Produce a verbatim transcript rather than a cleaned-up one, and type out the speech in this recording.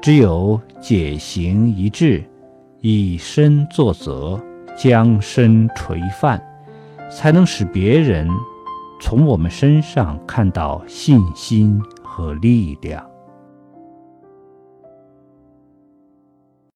只有解行一致，以身作则，将身垂范，才能使别人从我们身上看到信心和力量。